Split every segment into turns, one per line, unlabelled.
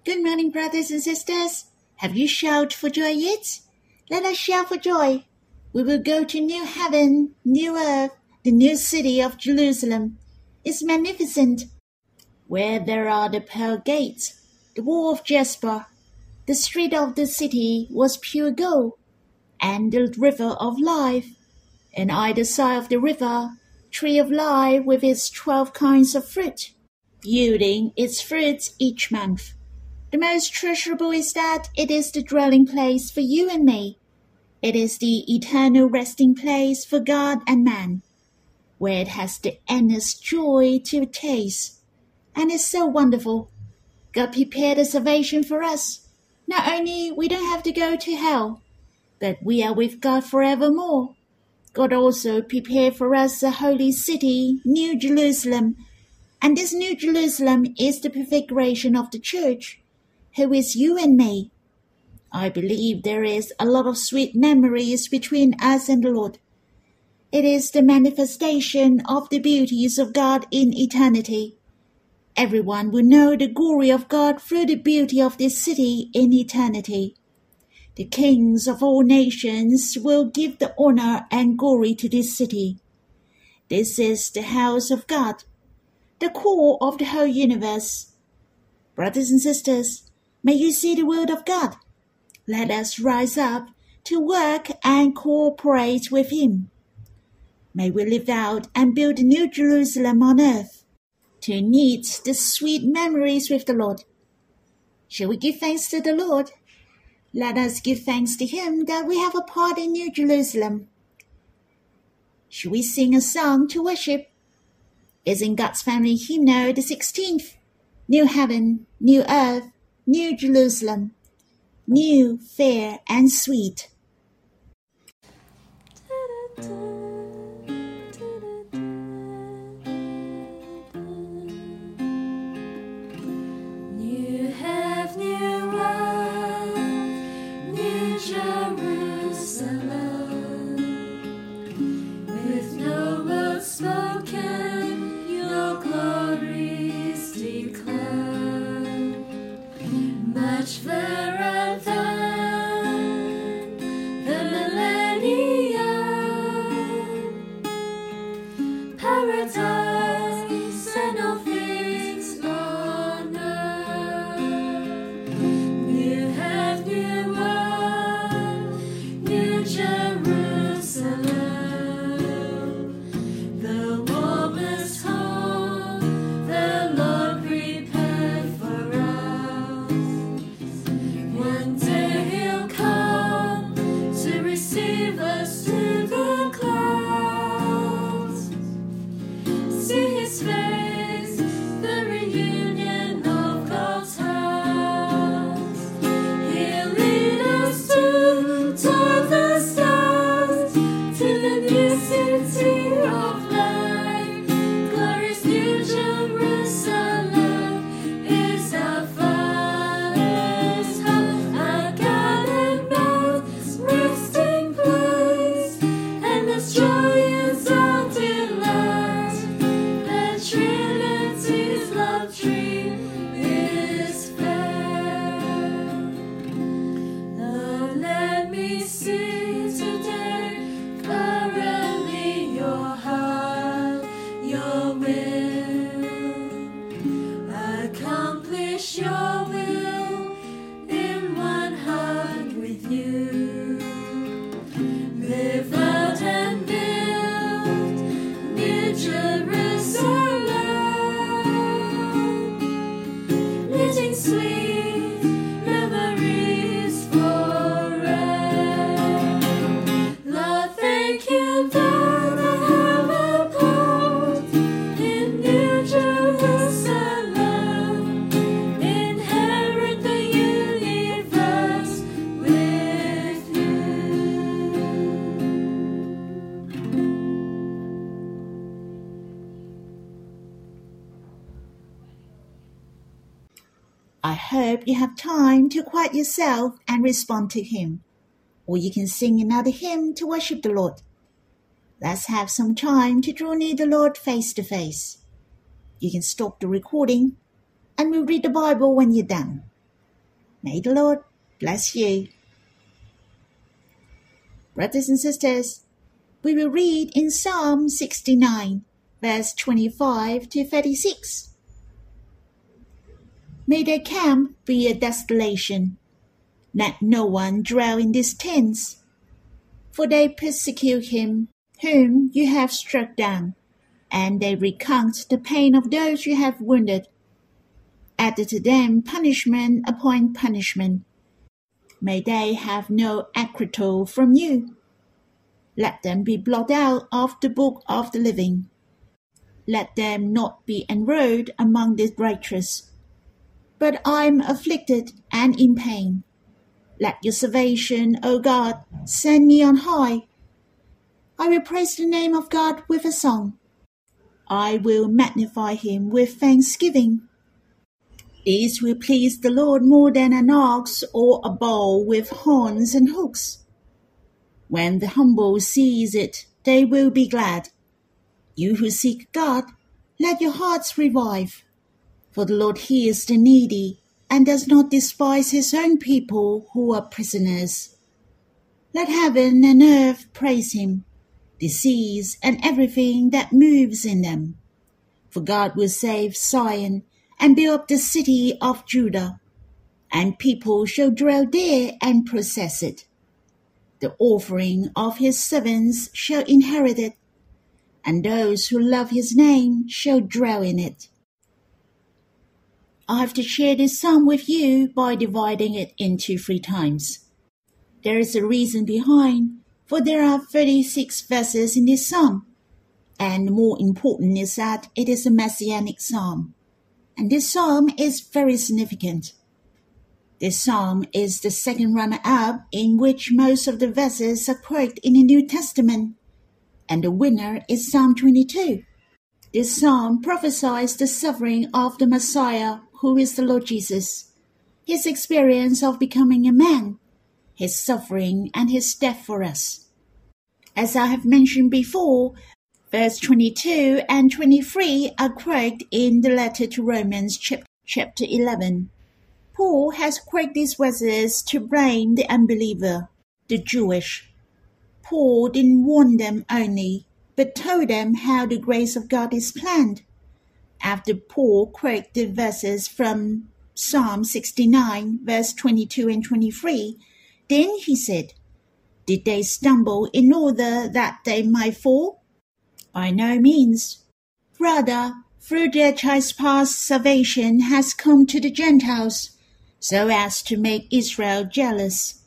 Good morning, brothers and sisters. Have you shouted for joy yet? Let us shout for joy. We will go to new heaven, new earth, the new city of Jerusalem. It's magnificent. Where there are the pearl gates, the wall of jasper, the street of the city was pure gold, and the river of life. And either side of the river, tree of life with its 12 kinds of fruit, yielding its fruits each month. The most treasurable is that it is the dwelling place for you and me. It is the eternal resting place for God and man, where it has the endless joy to taste. And it's so wonderful. God prepared a salvation for us. Not only we don't have to go to hell, but we are with God forevermore. God also prepared for us a holy city, New Jerusalem. And this New Jerusalem is the prefiguration of the church, who is you and me. I believe there is a lot of sweet memories between us and the Lord. It is the manifestation of the beauties of God in eternity. Everyone will know the glory of God through the beauty of this city in eternity. The kings of all nations will give the honor and glory to this city. This is the house of God, the core of the whole universe. Brothers and sisters, may you see the word of God. Let us rise up to work and cooperate with Him. May we live out and build a new Jerusalem on earth to meet the sweet memories with the Lord. Shall we give thanks to the Lord? Let us give thanks to Him that we have a part in New Jerusalem. Shall we sing a song to worship? It's in God's Family Hymnal, the 16th. New heaven, new earth, new Jerusalem, new, fair, and sweet.
New heaven, new earth, new Jerusalem, with no word spoken, your glories declare, much fairer than the millennium, paradise and all things on earth. New heaven, new earth, new Jerusalem, the warmest home the Lord prepared for us. One day He'll come to receive us to the clouds. See His face, the reunion of God's house. He'll lead us toward the stars, to the new city of light. Glorious New Jerusalem is our Father's house, our God and man's resting place, and His joy is our delight. The Trinity's love tree is fair. Lord, let me see today thoroughly your heart, your will. Accomplish your will in one heart with you. Live out and build New Jerusalem, knitting sweet memories forever. Lord, thank you that I have a part in New Jerusalem. Inherit the universe with you.
I hope you have time to quiet yourself and respond to Him. Or you can sing another hymn to worship the Lord. Let's have some time to draw near the Lord face to face. You can stop the recording and we'll read the Bible when you're done. May the Lord bless you. Brothers and sisters, we will read in Psalm 69, verse 25 to 36. May their camp be a desolation. Let no one dwell in these tents. For they persecute him whom you have struck down, and they recount the pain of those you have wounded. Add to them punishment upon punishment. May they have no acquittal from you. Let them be blotted out of the book of the living. Let them not be enrolled among the righteous. But I am afflicted and in pain. Let your salvation, O God, send me on high. I will praise the name of God with a song. I will magnify him with thanksgiving. These will please the Lord more than an ox or a bull with horns and hooks. When the humble sees it, they will be glad. You who seek God, let your hearts revive. For the Lord hears the needy and does not despise his own people who are prisoners. Let heaven and earth praise him, the seas and everything that moves in them. For God will save Zion and build up the city of Judah, and people shall dwell there and possess it. The offering of his servants shall inherit it, and those who love his name shall dwell in it. I have to share this psalm with you by dividing it into 3 times. There is a reason behind, for there are 36 verses in this psalm, and more important is that it is a messianic psalm. And this psalm is very significant. This psalm is the second runner-up in which most of the verses are quoted in the New Testament, and the winner is Psalm 22. This psalm prophesies the suffering of the Messiah, who is the Lord Jesus, his experience of becoming a man, his suffering and his death for us. As I have mentioned before, verse 22 and 23 are quoted in the letter to Romans chapter 11. Paul has quoted these verses to blame the unbeliever, the Jewish. Paul didn't warn them only, but told them how the grace of God is planned. After Paul quoted the verses from Psalm 69, verse 22 and 23, then he said, "Did they stumble in order that they might fall? By no means. Rather, through their trespass salvation has come to the Gentiles, so as to make Israel jealous."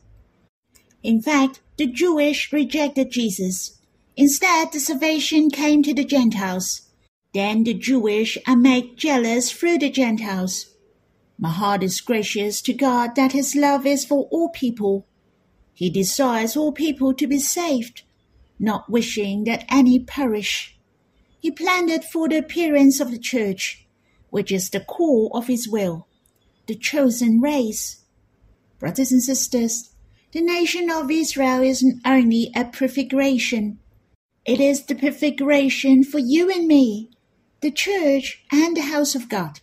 In fact, the Jewish rejected Jesus. Instead, the salvation came to the Gentiles. Then the Jewish are made jealous through the Gentiles. My heart is gracious to God that his love is for all people. He desires all people to be saved, not wishing that any perish. He planned it for the appearance of the church, which is the core of his will, the chosen race. Brothers and sisters, the nation of Israel isn't only a prefiguration. It is the prefiguration for you and me, the church and the house of God.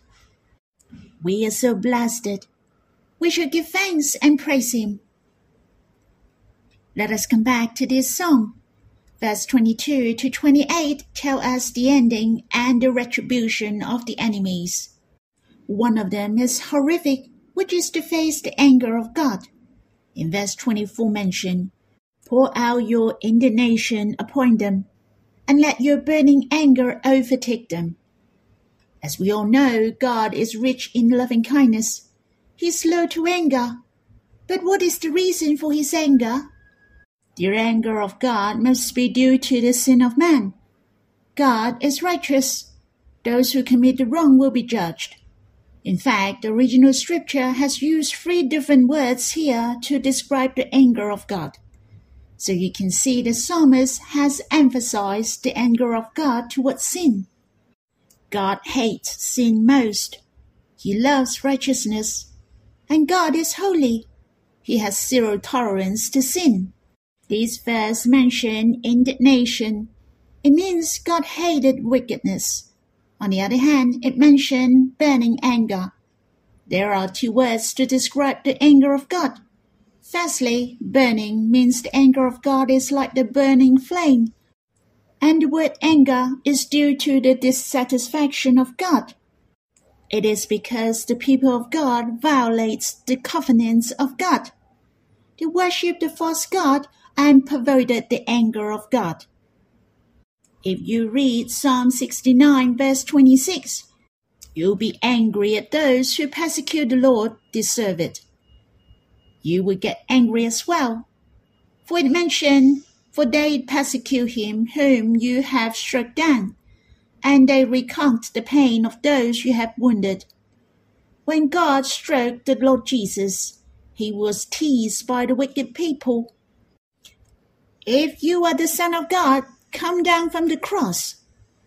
We are so blessed. We should give thanks and praise him. Let us come back to this psalm. Verse 22 to 28 tell us the ending and the retribution of the enemies. One of them is horrific, which is to face the anger of God. In verse 24 mentioned, "Pour out your indignation upon them, and let your burning anger overtake them." As we all know, God is rich in loving kindness. He is slow to anger. But what is the reason for his anger? The anger of God must be due to the sin of man. God is righteous. Those who commit the wrong will be judged. In fact, the original scripture has used 3 different words here to describe the anger of God. So you can see the psalmist has emphasized the anger of God towards sin. God hates sin most. He loves righteousness. And God is holy. He has 0 tolerance to sin. This verse mentions indignation. It means God hated wickedness. On the other hand, it mentions burning anger. There are two words to describe the anger of God. Firstly, burning means the anger of God is like the burning flame. And the word anger is due to the dissatisfaction of God. It is because the people of God violates the covenants of God. They worship the false god and perverted the anger of God. If you read Psalm 69 verse 26, you'll be angry at those who persecute the Lord deserve it. You will get angry as well. For it mentioned, for they persecute him whom you have struck down, and they recount the pain of those you have wounded. When God struck the Lord Jesus, he was teased by the wicked people. If you are the Son of God, come down from the cross.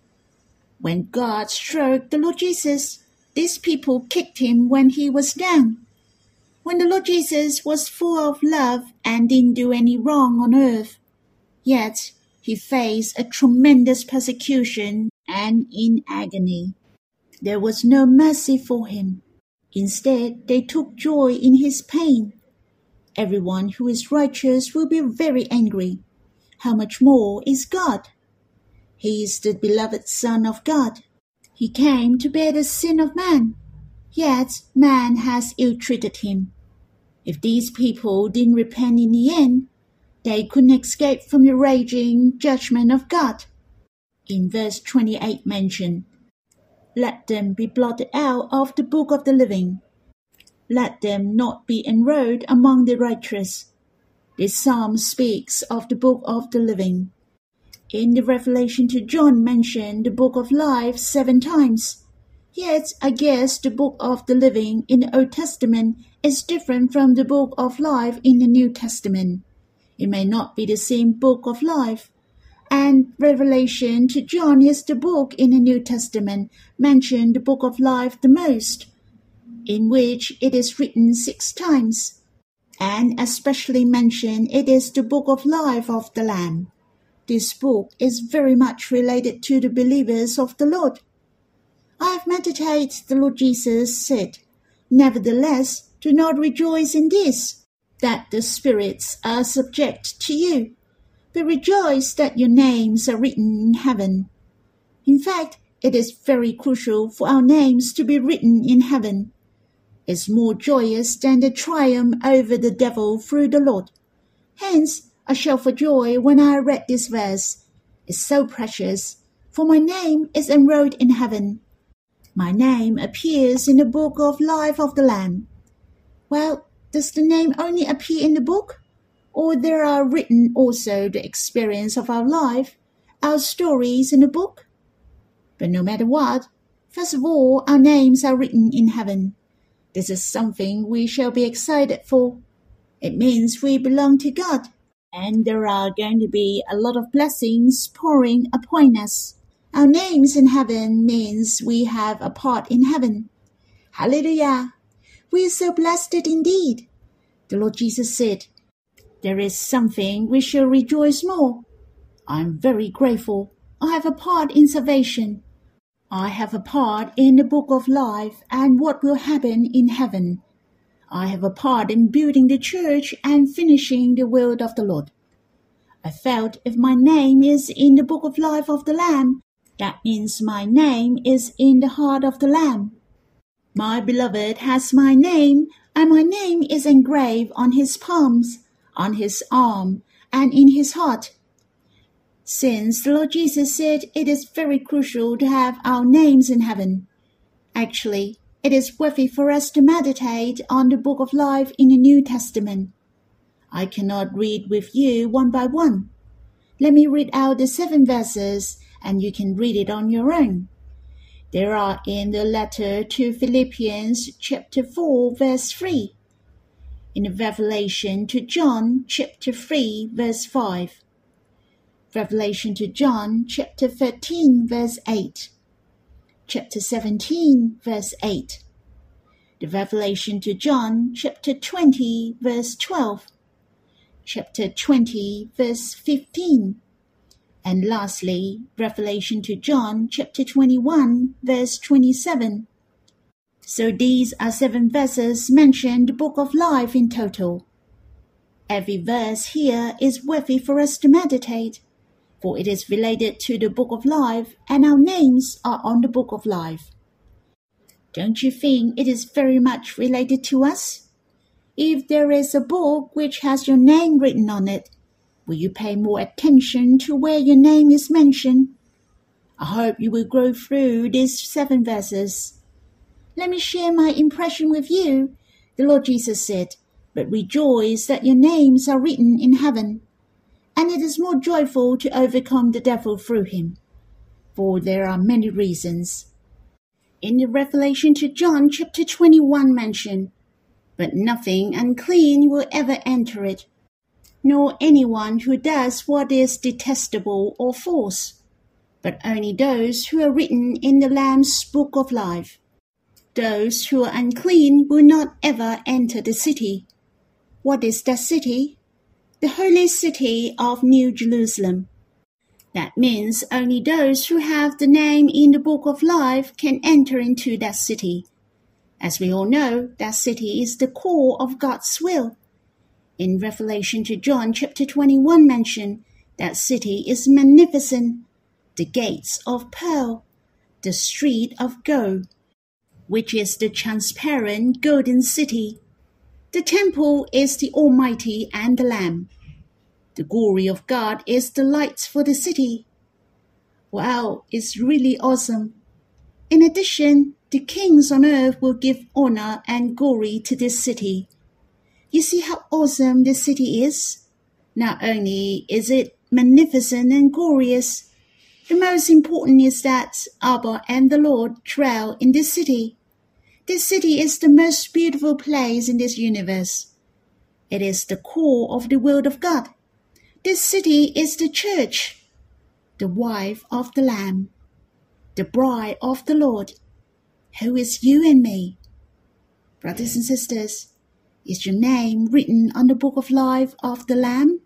When God struck the Lord Jesus, these people kicked him when he was down. When the Lord Jesus was full of love and didn't do any wrong on earth, yet he faced a tremendous persecution and in agony. There was no mercy for him. Instead, they took joy in his pain. Everyone who is righteous will be very angry. How much more is God? He is the beloved Son of God. He came to bear the sin of man, yet man has ill-treated him. If these people didn't repent in the end, they couldn't escape from the raging judgment of God. In verse 28 mentioned, let them be blotted out of the book of the living. Let them not be enrolled among the righteous. This psalm speaks of the book of the living. In the Revelation to John mentioned the book of life 7 times. Yet I guess the book of the living in the Old Testament is different from the book of life in the New Testament. It may not be the same book of life. And Revelation to John is the book in the New Testament mentioned the book of life the most, in which it is written 6 times. And especially mentioned it is the book of life of the Lamb. This book is very much related to the believers of the Lord. I have meditated, the Lord Jesus said, nevertheless, do not rejoice in this, that the spirits are subject to you, but rejoice that your names are written in heaven. In fact, it is very crucial for our names to be written in heaven. It's more joyous than the triumph over the devil through the Lord. Hence, I shout for joy when I read this verse. It's so precious, for my name is enrolled in heaven. My name appears in the book of life of the Lamb. Well, does the name only appear in the book? Or there are written also the experience of our life, our stories in the book? But no matter what, first of all, our names are written in heaven. This is something we shall be excited for. It means we belong to God, and there are going to be a lot of blessings pouring upon us. Our names in heaven means we have a part in heaven. Hallelujah! We are so blessed indeed. The Lord Jesus said, there is something we shall rejoice more. I am very grateful. I have a part in salvation. I have a part in the book of life and what will happen in heaven. I have a part in building the church and finishing the will of the Lord. I felt if my name is in the book of life of the Lamb, that means my name is in the heart of the Lamb. My beloved has my name, and my name is engraved on his palms, on his arm, and in his heart. Since the Lord Jesus said it is very crucial to have our names in heaven, actually, it is worthy for us to meditate on the book of life in the New Testament. I cannot read with you one by one. Let me read out the 7 verses, and you can read it on your own. They are in the letter to Philippians chapter 4 verse 3, in the Revelation to John chapter 3 verse 5, Revelation to John chapter 13 verse 8, chapter 17 verse 8, the Revelation to John chapter 20 verse 12, chapter 20 verse 15, and lastly, Revelation to John chapter 21 verse 27. So these are 7 verses mentioned in the Book of Life in total. Every verse here is worthy for us to meditate, for it is related to the Book of Life, and our names are on the Book of Life. Don't you think it is very much related to us? If there is a book which has your name written on it, will you pay more attention to where your name is mentioned? I hope you will go through these 7 verses. Let me share my impression with you. The Lord Jesus said, "But rejoice that your names are written in heaven." And it is more joyful to overcome the devil through him. For there are many reasons. In the Revelation to John chapter 21 mentioned, "But nothing unclean will ever enter it, nor anyone who does what is detestable or false, but only those who are written in the Lamb's book of life. Those who are unclean will not ever enter the city." What is that city? The holy city of New Jerusalem. That means only those who have the name in the book of life can enter into that city. As we all know, that city is the core of God's will. In Revelation to John chapter 21 mentioned, that city is magnificent, the gates of pearl, the street of gold, which is the transparent golden city. The temple is the Almighty and the Lamb. The glory of God is the light for the city. Wow, it's really awesome. In addition, the kings on earth will give honor and glory to this city. You see how awesome this city is? Not only is it magnificent and glorious, the most important is that Abba and the Lord dwell in this city. This city is the most beautiful place in this universe. It is the core of the will of God. This city is the church, the wife of the Lamb, the bride of the Lord, who is you and me. Brothers and sisters, is your name written on the book of life of the Lamb?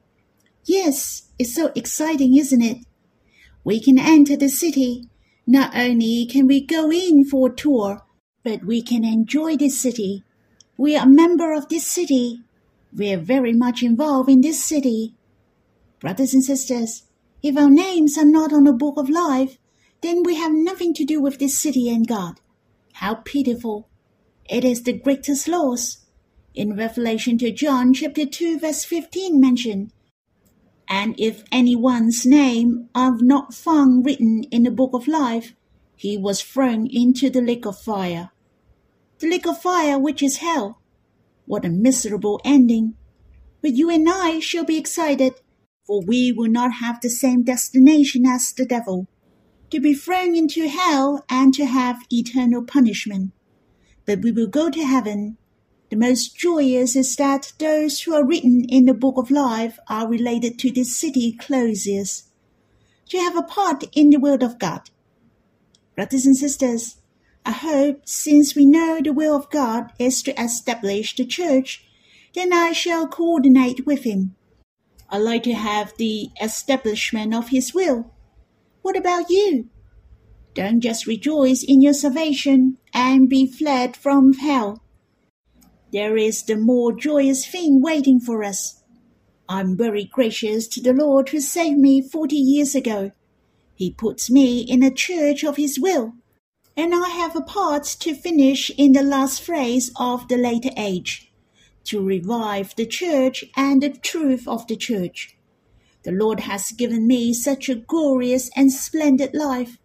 Yes, it's so exciting, isn't it? We can enter the city. Not only can we go in for a tour, but we can enjoy this city. We are a member of this city. We are very much involved in this city. Brothers and sisters, if our names are not on the book of life, then we have nothing to do with this city and God. How pitiful. It is the greatest loss. In Revelation to John chapter 2 verse 15 mentioned, "And if anyone's name are not found written in the book of life, he was thrown into the lake of fire." The lake of fire, which is hell. What a miserable ending. But you and I shall be excited, for we will not have the same destination as the devil, to be thrown into hell and to have eternal punishment. But we will go to heaven. The most joyous is that those who are written in the book of life are related to this city closest, to have a part in the will of God. Brothers and sisters, I hope since we know the will of God is to establish the church, then I shall coordinate with him. I like to have the establishment of his will. What about you? Don't just rejoice in your salvation and be fled from hell. There is the more joyous thing waiting for us. I'm very gracious to the Lord who saved me 40 years ago. He puts me in a church of his will, and I have a part to finish in the last phase of the later age, to revive the church and the truth of the church. The Lord has given me such a glorious and splendid life.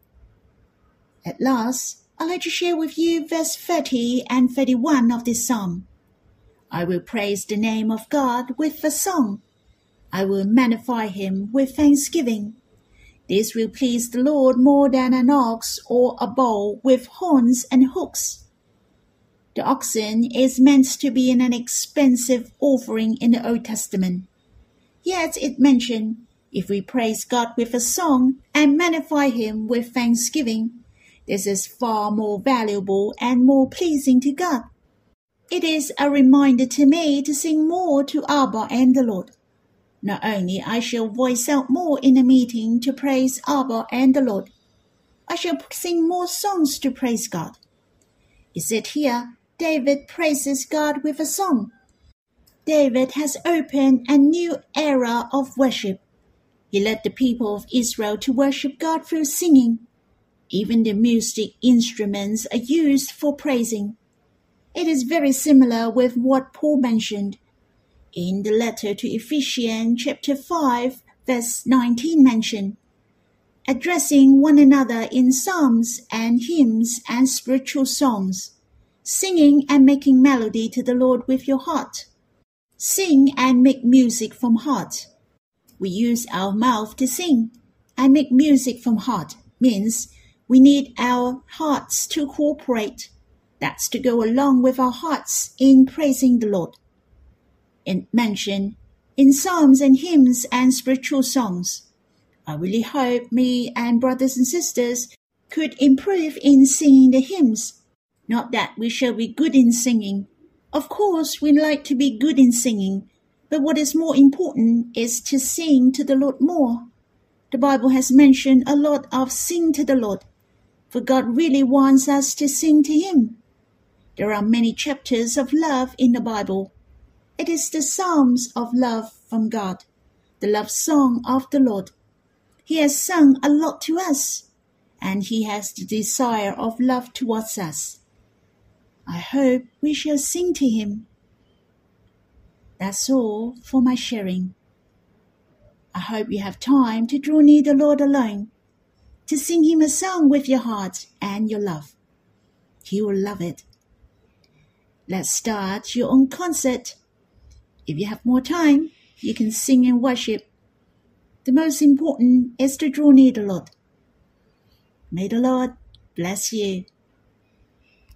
At last, I'd like to share with you verse 30 and 31 of this psalm. I will praise the name of God with a song. I will magnify him with thanksgiving. This will please the Lord more than an ox or a bull with horns and hooks. The oxen is meant to be an expensive offering in the Old Testament. Yet it mentioned, if we praise God with a song and magnify him with thanksgiving, this is far more valuable and more pleasing to God. It is a reminder to me to sing more to Abba and the Lord. Not only I shall voice out more in a meeting to praise Abba and the Lord, I shall sing more songs to praise God. It said here, David praises God with a song. David has opened a new era of worship. He led the people of Israel to worship God through singing. Even the music instruments are used for praising. It is very similar with what Paul mentioned in the letter to Ephesians chapter 5, verse 19 mentioned, addressing one another in psalms and hymns and spiritual songs, singing and making melody to the Lord with your heart. Sing and make music from heart. We use our mouth to sing and make music from heart means we need our hearts to cooperate. That's to go along with our hearts in praising the Lord. It mentioned in psalms and hymns and spiritual songs. I really hope me and brothers and sisters could improve in singing the hymns. Not that we shall be good in singing. Of course, we like to be good in singing, but what is more important is to sing to the Lord more. The Bible has mentioned a lot of sing to the Lord, for God really wants us to sing to Him. There are many chapters of love in the Bible. It is the Psalms of love from God, the love song of the Lord. He has sung a lot to us, and He has the desire of love towards us. I hope we shall sing to Him. That's all for my sharing. I hope you have time to draw near the Lord alone, to sing Him a song with your heart and your love. He will love it. Let's start your own concert. If you have more time, you can sing and worship. The most important is to draw near the Lord. May the Lord bless you.